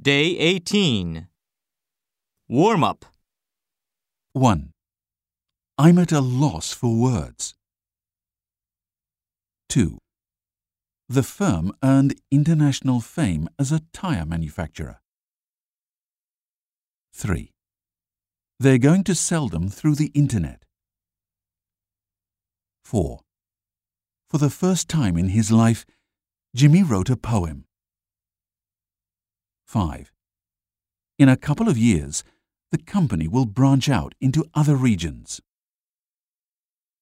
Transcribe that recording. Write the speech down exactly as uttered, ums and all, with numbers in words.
Day eighteen. Warm-up. one. I'm at a loss for words. two. The firm earned international fame as a tire manufacturer. three. They're going to sell them through the internet. four. For the first time in his life, Jimmy wrote a poem. five. In a couple of years, the company will branch out into other regions.